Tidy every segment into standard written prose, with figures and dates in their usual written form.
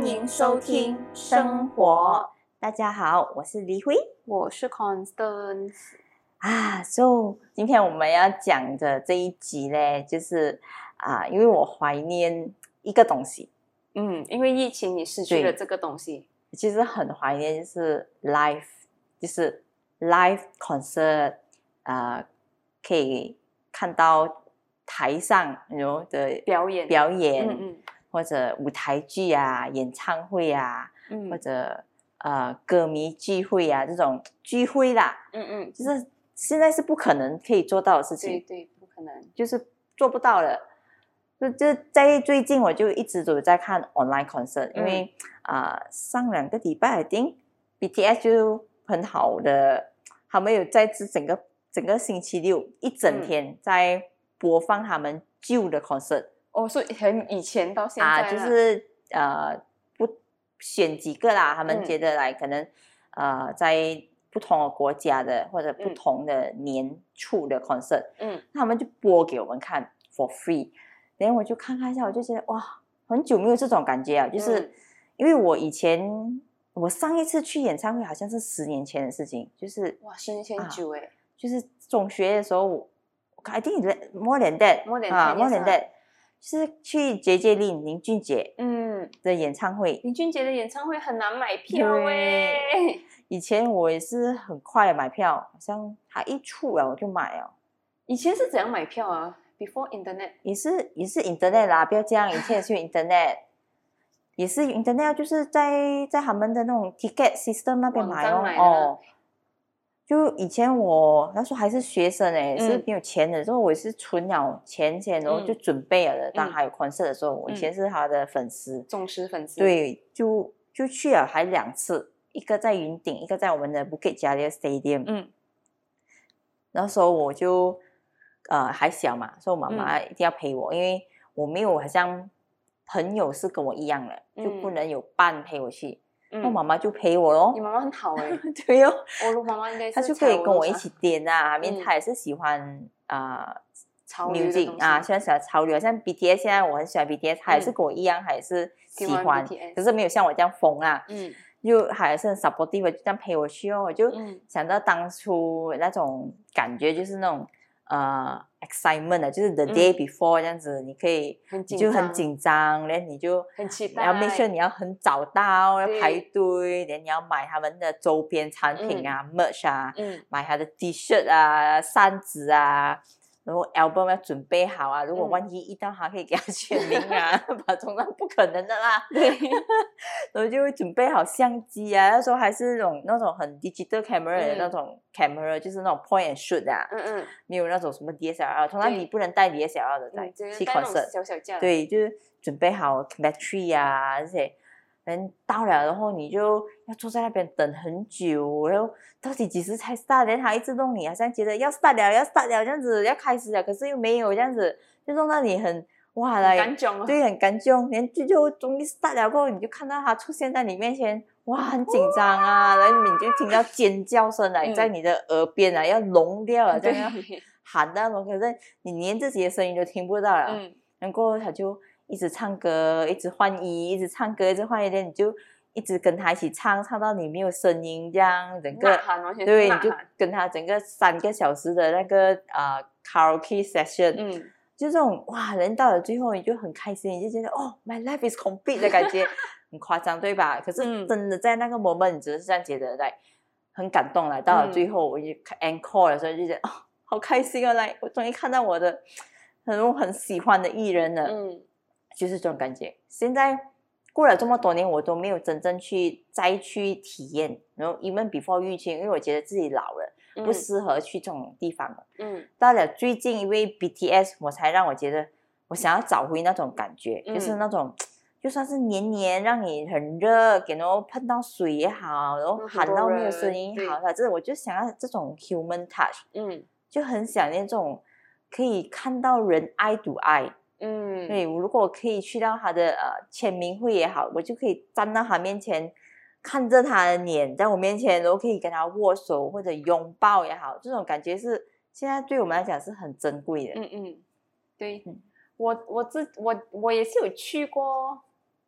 欢迎收听生活。大家好，我是黎辉， 我是 Constance So 今天我们要讲的这一集呢，就是因为我怀念一个东西， 因为疫情你失去了这个东西， 其实很怀念，就是 live concert，可以看到台上的表演， 或者舞台剧啊、演唱会啊，或者歌迷聚会啊，这种聚会啦，就是现在是不可能可以做到的事情， 对，不可能， 就是做不到了。就在最近我就一直都在看 online concert，因为上2个礼拜 I think BTS 就很好的，他们有在整个星期六一整天在播放他们旧的 concert。 所以很以前到现在就是不选几个啦，他们觉得来可能在不同的国家的或者不同的年处的 concert，他们就播给我们看 for free， 然后我就看一下，我就觉得哇，很久没有这种感觉啊，就是因为我上一次去演唱会好像是10年前的事情，就是哇，10年前很久耶， 就是中学的时候I think more than that，就是去JJ Lin 林俊杰的演唱会。 林俊杰的演唱会很难买票耶， 以前我也是很快的买票，好像他一出了我就买了。 以前是怎样买票啊 ？Before internet 也是 internet 啦，不要这样，以前也是用 internet， 也是 internet， 就是在他们的那种 ticket system 那边买哦。就以前我那时候还是学生是没有钱的时候，我也是存了钱，然后就准备了的。当还有 concert 的时候，我以前是他的粉丝， 忠实粉丝。 对，就去了，还2次，一个在云顶，一个在我们的 Bukit Jalil Stadium。那时候我就还小嘛，所以我妈妈一定要陪我，因为我没有好像朋友是跟我一样的，就不能有伴陪我去。我妈妈就陪我咯。 你妈妈很好对哦， 我的妈妈应该是她就可以跟我一起点因为她也是喜欢music 喜欢潮流，像 BTS 现在我很喜欢 BTS， 她也是跟我一样，她也是喜欢，可是没有像我这样疯就还是很 supportive， 就这样陪我去哦。我就想到当初那种感觉，就是那种excitement 就是 the day before 这样子，你可以就很紧张，然后你就很期待， 然后 make sure 你要很早到，要排队，然后你要买他们的周边产品merch 买他的 T-shirt 扇子然后 album 要准备好如果万一遇到他可以给他签名通常不可能的啦。 对， 然后就会准备好相机那时候还是那种很 digital camera 的那种 camera，就是那种 point and shoot 没有那种什么 DSLR， 通常你不能带 DSLR 的在去 concert， 小小架， 对，就是准备好 battery 这些。人到了，然后你就要坐在那边等很久，然后到底几时才 start？ 然后他一直弄你，好像觉得要 start 了这样子，要开始了，可是又没有这样子，就弄到你很感动对，很感动。然后就终于 start 了过后，你就看到他出现在你面前，哇，很紧张然后你就听到尖叫声在你的耳边要聋掉了，这样要喊那种，可是你连自己的声音都听不到了。然后他就一直唱歌，一直换衣，一直唱歌，一直换衣，你就一直跟他一起唱到你没有声音，这样整个对，你就跟他整个3个小时的那个karaoke session，就这种哇，人到了最后你就很开心，你就觉得my life is complete 的感觉，很夸张对吧？可是真的在那个 moment 你只是这样觉得很感动到了最后我就 encore 的时候就觉得好开心我终于看到我的很喜欢的艺人了，就是这种感觉。现在过了这么多年，我都没有真正再去体验。然后 even before 疫情，因为我觉得自己老了，不适合去这种地方了。到了最近，因为 BTS， 我才让我觉得我想要找回那种感觉，就是那种就算是黏让你很热，然后碰到水也好，然后喊到没有声音也好，反正我就想要这种 human touch，就很想念这种可以看到人eye to eye。对，如果我可以去到他的签名会也好，我就可以站到他面前，看着他的脸在我面前，然后可以跟他握手或者拥抱也好，这种感觉是现在对我们来讲是很珍贵的。 对，我也是有去过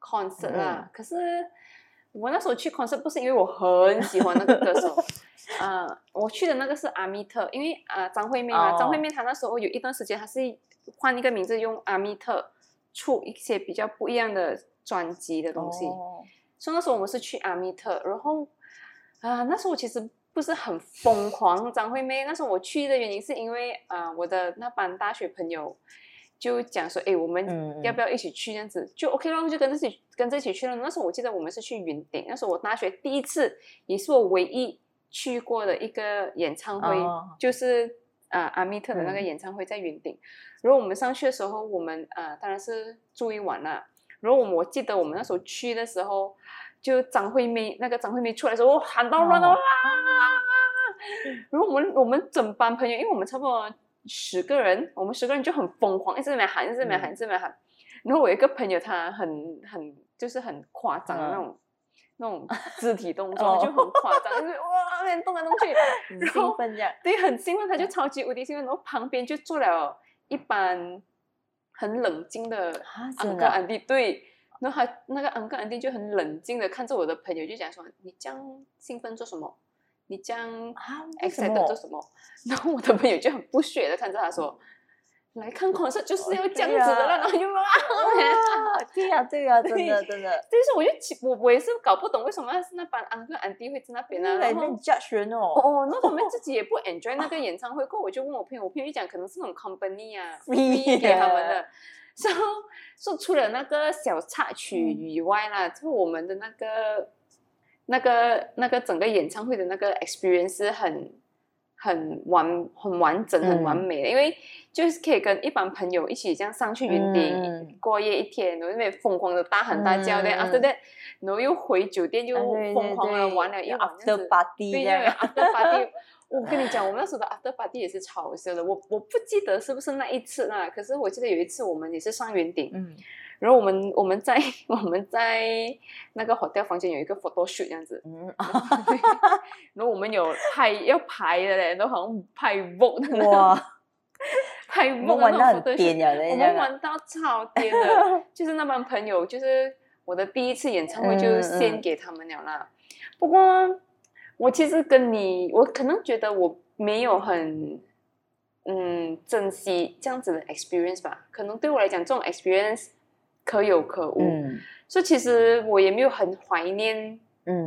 concert 啦，可是我那时候去 concert 不是因为我很喜欢那个歌手，我去的那个是阿密特，因为张惠妹嘛，张惠妹她那时候有一段时间她是换一个名字用阿密特出一些比较不一样的专辑的东西，所以那时候我们是去阿密特，然后那时候我其实不是很疯狂张惠妹，那时候我去的原因是因为我的那班大学朋友就讲说，我们要不要一起去这样子，就 OK 了，就跟着一起去了。那时候我记得我们是去云顶，那时候我大学第一次，也是我唯一去过的一个演唱会，就是阿密特的那个演唱会在云顶。然后我们上去的时候，我们当然是住一晚啦。然后我记得我们那时候去的时候，就张惠妹出来的时候，我喊到乱啦！然后我们整班朋友，因为我们差不多10个人，我们10个人就很疯狂，一直在那喊，一直在那喊，一直在那喊。然后我有一个朋友，他就是很夸张的那种肢体动作，就很夸张，就是哇，那边动来动去， 很兴奋这样。 对，很兴奋，他就超级无敌兴奋。然后旁边就坐了一班很冷静的uncle auntie，对。然后他那个uncle auntie就很冷静的看着我的朋友，就讲说：“你这样兴奋做什么？你这样 excited 做什么？”然后我的朋友就很不屑的看着他说：“来看concert就是要这样子的了。”然后就对呀，真的。 就是我也是搞不懂为什么那班uncle auntie会在那边呢？ 然后 judge 人那他们自己也不 enjoy 那个演唱会。过我就问我朋友就讲可能是那种 company free 给他们的。然后说除了那个小插曲以外啦，就我们的那个整个演唱会的那个 experience 是很完整、很完美的，因为就是可以跟一帮朋友一起这样上去云顶过夜一天，然后那边疯狂的大喊大叫的，after that， 然后又回酒店又疯狂的玩了一晚 after party， 对 after party。我跟你讲，我们那时候的 after party 也是超好笑的。我不记得是不是那一次啦，可是我记得有一次我们也是上云顶，然后我们在那个 hotel 房间有一个 photo shoot 这样子，然后我们有要拍的嘞，都好像拍 Vogue 哇，拍 Vogue 玩到很颠了， 我们玩到超颠的，就是那帮朋友，就是我的第一次演唱会就献给他们了啦。不过我其实我可能觉得我没有很珍惜这样子的 experience 吧，可能对我来讲这种 experience 可有可无，所以其实我也没有很怀念，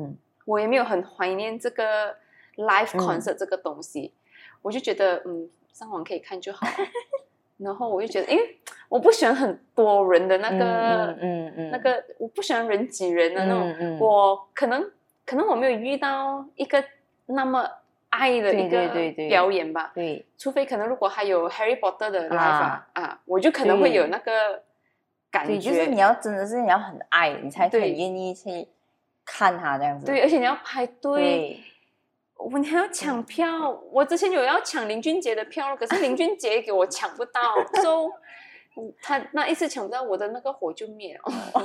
这个 live concert 这个东西，我就觉得上网可以看就好了。然后我就觉得，因为我不喜欢很多人的那个，我不喜欢人挤人的那种，我可能我没有遇到一个那么爱的一个表演吧， 对， 除非可能如果还有 Harry Potter 的 live 我就可能会有那个感觉， 对，就是你要真的是你要很爱，你才很愿意去看他这样子， 对，而且你要排队，你还要抢票，我之前有要抢林俊杰的票，可是林俊杰给我抢不到，so 他那一次抢不到，我的那个火就灭了。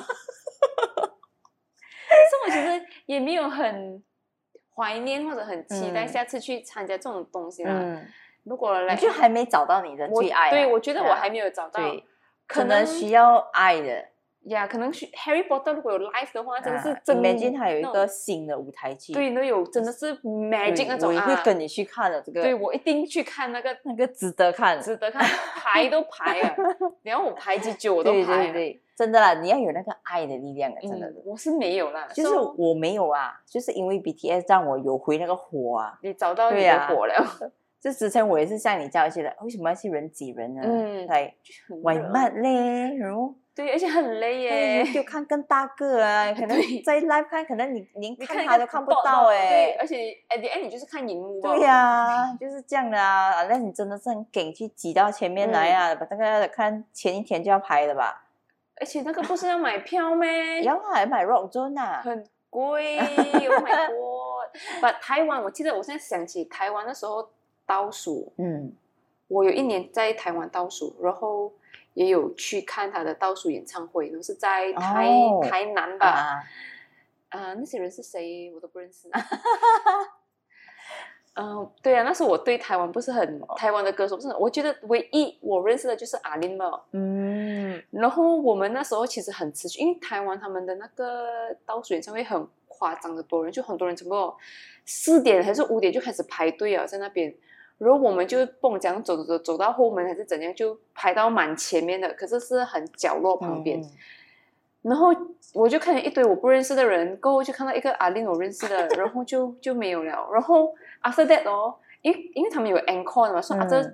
所以我其实也没有很怀念或者很期待下次去参加这种东西啦。如果你就还没找到你的最爱， 对，我觉得我还没有找到， 可能需要爱的呀，可能 Harry Potter 如果有 live 的话，真的是 Imagine 他有一个新的舞台剧， 对，那有真的是 magic 那种， 我也会跟你去看的。这个， 对，我一定去看那个值得看， 排都排啊！然后我排几久我都排， 对，真的啦，你要有那个爱的力量，真的。 我是没有啦， 就是我没有啊，就是因为 BTS 让我有回那个火啊， 你找到你的火了。 就之前我也是像你这样觉得，为什么要去人挤人呢？来玩慢嘞，然后对，而且很累耶， 就看更大个啊，可能在 live 看，可能你连看他都看不到对，而且 at the end 你就是看荧幕吧。 对呀，就是这样的啊，那你真的是很给去挤到前面来啊，把那个看前一天就要拍的吧？ 而且那个不是要买票咩？ 要买 Rock Zone 啊， 很贵，Oh my god！台湾，我记得我现在想起台湾的时候倒数，我有一年在台湾倒数，然后也有去看他的倒数演唱会，然后是在台南吧，那些人是谁我都不认识。 对啊，那时候我对台湾不是很台湾的歌手不是很，我觉得唯一我认识的就是阿玲嘛。然后我们那时候其实很持续，因为台湾他们的那个倒数演唱会很夸张的多人，就很多人差不多4点还是5点就开始排队啊，在那边。然后我们就蹦这样走到后门还是怎样，就排到蛮前面的，可是是很角落旁边。然后我就看见一堆我不认识的人，过后就看到一个阿玲我认识的，然后就没有了。然后 after that 哦，因为他们有 encore 的嘛，所以这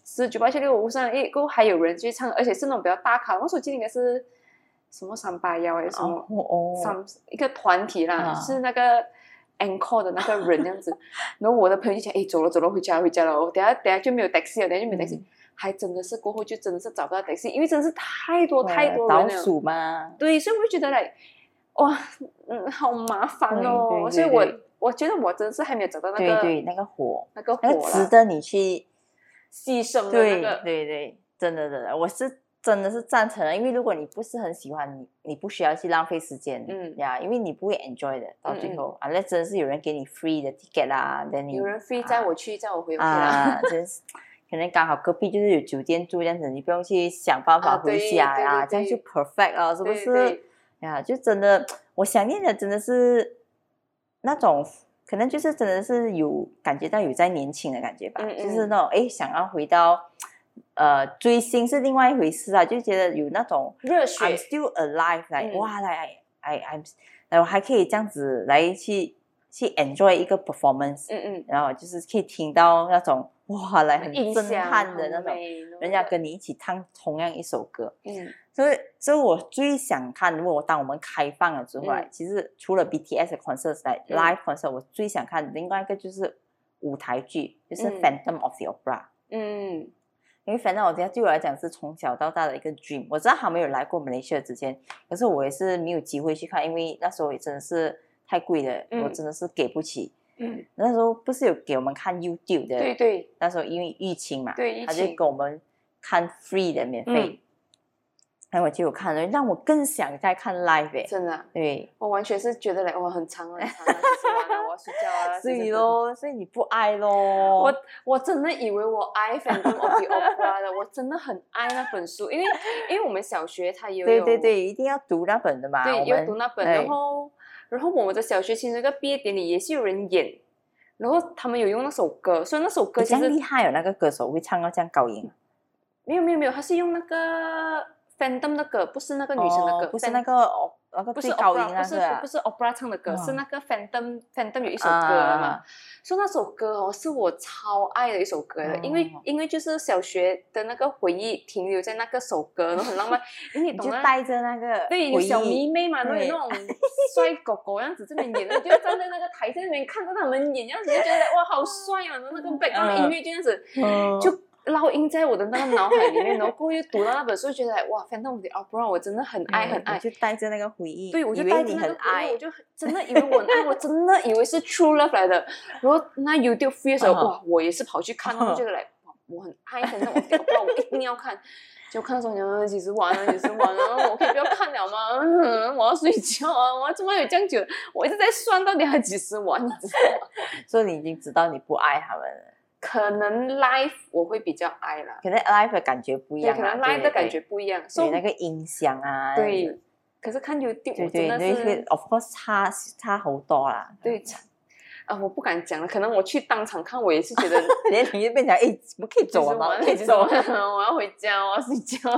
198765上过后还有人去唱，而且是那种比较大咖。我手机应该是什么381还是什么一个团体啦，是那个 encore 的那个人这样子。然后我的朋友就讲，走了回家了，等下就没有 taxi 了，等下就没有 taxi。还真的是过后就真的是找不到 taxi， 因为真的是太多人了， 倒数嘛。 对，所以我就觉得来，哇，好麻烦哦。所以我觉得我真的是还没有找到那个那个火， 那个值得你去牺牲的那个。 对，真的，我是真的是赞成的，因为如果你不是很喜欢，你不需要去浪费时间，因为你不会 enjoy 的，到最后那真的是有人给你 free 的 ticket 啦， 有人 free 载我去，载我回啦， 真是。可能刚好隔壁就是有酒店住这样子，你不用去想办法回家这样就 perfect 了，是不是？呀，就真的，我想念的真的是那种，可能就是真的是有感觉到有在年轻的感觉吧，就是那种想要回到追星是另外一回事啊，就觉得有那种热血 ，I'm still alive，哇，我还可以这样子来去 enjoy 一个 performance，然后就是可以听到那种。哇，来很震撼的那种，人家跟你一起唱同样一首歌，所以我最想看，如果当我们开放了之后，其实除了 BTS 的 concert live concert，我最想看另外一个就是舞台剧，就是 Phantom of the Opera，因为 Phantom of the Opera 对我来讲是从小到大的一个 dream， 我知道他没有来过马来西亚之前，可是我也是没有机会去看，因为那时候也真的是太贵了，我真的是给不起。那时候不是有给我们看 YouTube 的， 对， 那时候因为疫情嘛， 对， 他就给我们看 free 的免费，然后我就有看了，让我更想再看 live 真的， 对， 我完全是觉得哇很长啊，就是完了我要睡觉啊， 所以咯，所以你不爱咯， 我真的以为我爱 Phantom of the Opera 的，我真的很爱那本书，因为我们小学它也有， 对，一定要读那本的嘛， 对，要读那本，然后我们的小学其实那个毕业典礼也是有人演，然后他们有用那首歌，所以那首歌其实这样厉害有那个歌手会唱到这样高音， 没有，他是用那个 Phantom 的歌，不是那个女生的歌， 不是那个最高音那个， 不是 Opera 唱的歌，是那个 Phantom 有一首歌嘛，所以那首歌是我超爱的一首歌的，因为就是小学的那个回忆停留在那个首歌，然后很浪漫，因为你懂就带着那个对，有小迷妹嘛，然后有那种帅狗狗样子这边演的，就站在那个台上那边看着他们演，这样子就觉得哇好帅啊，然后那个 background 音乐就这样子就烙印在我的那个脑海里面，然后过后又读到那本书，觉得哇 Phantom of the Opera 我真的很爱， 我就带着那个回忆， 对，我就带着那个回忆，我就真的以为我很爱，我真的以为是 true love 来的。然后那 YouTube free 的时候，哇，我也是跑去看，我觉得我很爱 Phantom of the Opera，我一定要看。就看的时候，你几时完了，我可以不要看了吗？我要睡觉啊！我怎么有这样久？我一直在算到底还几时完，你知道吗？ 所以你已经知道你不爱他们了。 可能 live 我会比较爱啦， 可能 live 的感觉不一样， 可能 live 的感觉不一样， 所以那个音响啊， 对。可是看 YouTube 真的是 ，of course 差好多啦。 对，我不敢讲了，可能我去当场看，我也是觉得， 你就变成不可以走了吗？ 可以走，我要回家，我要睡觉。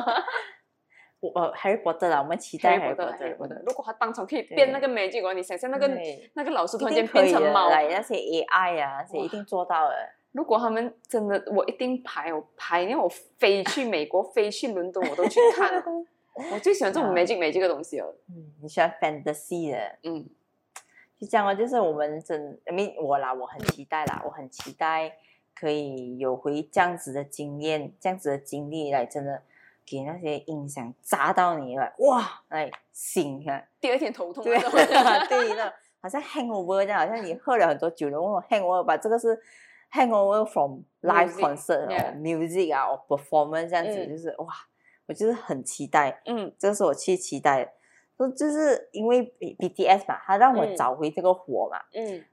Harry Potter 啦，我们期待 Harry Potter。 如果他当场可以变那个 magic，你想象那个老师突然间变成猫， 那些 AI 啊，那些一定做到了。 如果他们真的，我一定排，因为我飞去美国，飞去伦敦，我都去看。我最喜欢这种 magic 的东西哦。 你喜欢 fantasy 的，就这样哦。就是我们我很期待啦，我很期待可以有回这样子的经验，这样子的经历来，真的给那些音响砸到你了，哇，来醒啊！ 第二天头痛， 对，那好像 hangover 这样，好像你喝了很多酒，然后 hangover 吧，这个是。hangover from live concert or music 啊 or performance 这样子，就是哇，我就是很期待，这个是我去期待的，就是因为 BTS 嘛，他让我找回这个火嘛，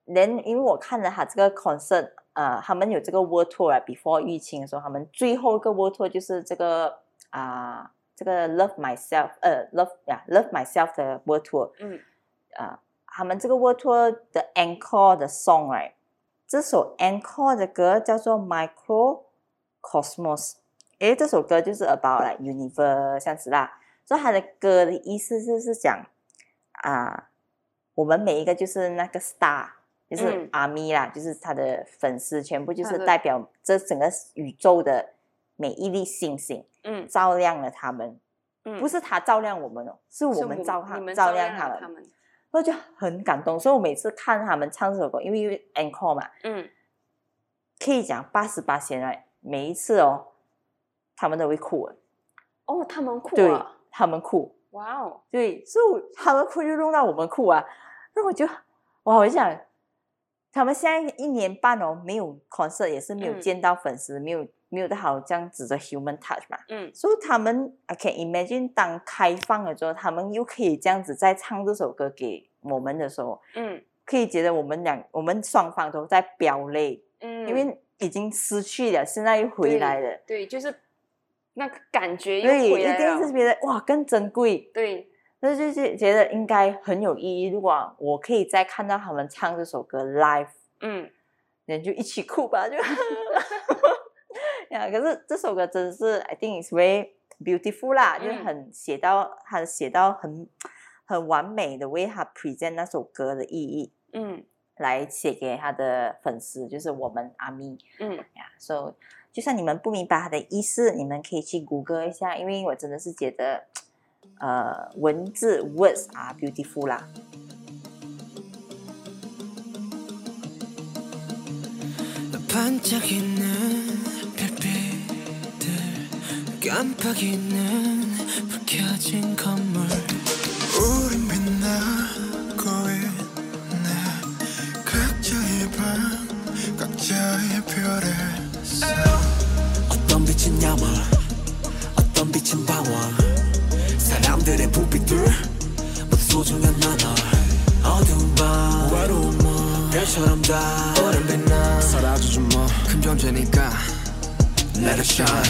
因为我看了他这个 concert， 他们有这个 world tour 啊 ，before 疫情的时候，他们最后一个 world tour 就是这个这个 Love Myself 的 world tour， 他们这个 world tour 的 encore 的 song right， 这首 encore 的歌叫做 Microcosmos， 这首歌就是 about like universe 这样子啦，所以他的歌的意思是讲我们每一个就是那个 star， 就是 ARMY 啦，就是他的粉丝全部就是代表这整个宇宙的每一粒星星，照亮了他们，不是他照亮我们哦，是我们照亮他们，我就很感动。所以我每次看他们唱这首歌，因为 encore 嘛，可以讲88%来，每一次哦，他们都会哭哦，他们哭啊， 对，他们哭， 哇哦， 对，所以他们哭就弄到我们哭啊，那我就哇，我就想，他们现在1年半哦，没有 concert， 也是没有见到粉丝，没有好这样子的 human touch 嘛，所以他们 I can imagine 当开放了之后，他们又可以这样子再唱这首歌给我们的时候，可以觉得我们双方都在飙泪，因为已经失去了，现在又回来了， 对，就是那个感觉又回来了， 对，一定是觉得哇更珍贵， 对。 那就是觉得应该很有意义。如果我可以再看到他们唱这首歌 live， 人就一起哭吧，就呀。可是这首歌真的是 I think it's very beautiful 啦，就是写到很完美的为他 present 那首歌的意义，来写给他的粉丝，就是我们ARMY，所以就算你们不明白他的意思，你们可以去 Google 一下，因为我真的是觉得。文字 words are beautiful 啦。 반짝이는 별빛들 깜빡이는 불 켜진 건물 우린 빛나고 있네 각자의 방 각자의 별에 어떤 빛은 야망 어떤 빛은 방황 사람들의 부빛들 모두 소중한 나눠 어두운 밤 외로운 밤 별처럼 다 오랜 빛나 사라져준 뭐큰 존재니까 Let it shine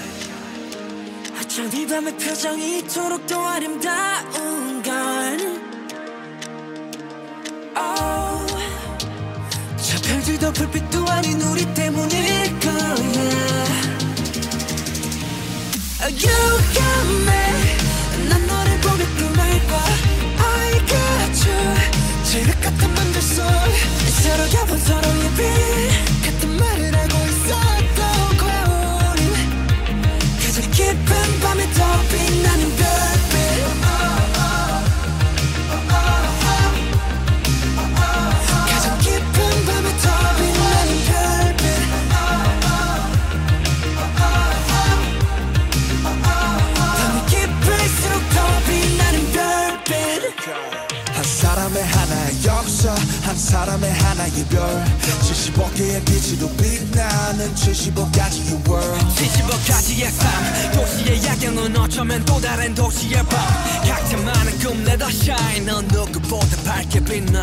어쩜 이 밤의 표정이 이토록 더 아름다운 걸 저 별들도 불빛도 아닌 우리 때문일 거야 You got me 난 너를 보며 꿈을 꿔 I got you 지륵 같은 맘들 속 서로 겹은 서로의 빛 같은 말을 하고 있었던 거야 우린 가장 깊은 밤에 더 빛나는 별빛 가장 깊은 밤에 더 빛나는 별빛 밤이 깊을수록 더 빛나는 별빛 한 사람의 하나의 역사 한 사람의 하나의 별 75개의 빛으로 빛나는 75가지의 world 75가지의 삶 도시의 야경은 어쩌면 또 다른 도시의 밤 각자만의 꿈 let us shine 넌 누구보다 밝게 빛나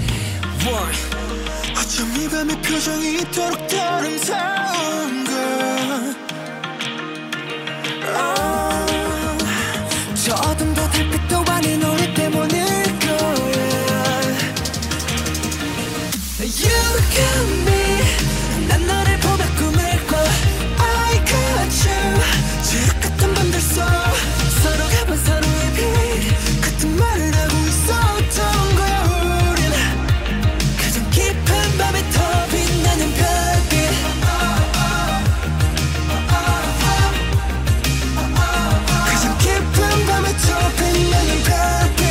어쩜 이 밤의 표정이 이토록 더 아름다운 걸 저 어둠도 달빛도 아닌 우리 때문일 거야 You got me 난 너를 보며 꿈을 꿔 I got you 지륵 같은 밤들 속 서로 가본 서로의 빛 같은 말을 하고 있었던 거야 우린 가장 깊은 밤에 더 빛나는 별빛 가장 깊은 밤에 더 빛나는 별빛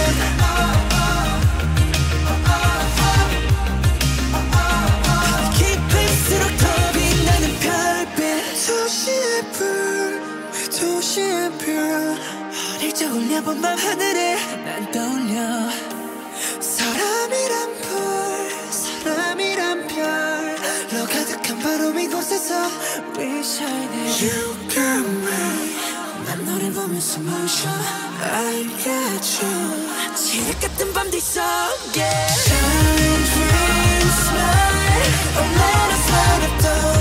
깊을수록 더 빛나는 별빛 도시의 불 도시의 별 어릴 적 올려본 밤 하늘에 난 떠올려 사람이란 별로 가득한 바로 이곳에서 We shining You got me 난 너를 보며 숨을 쉬어 I got you 지륵 같은 밤 뒤 속에 Shine dreams 얼마나 사랑했던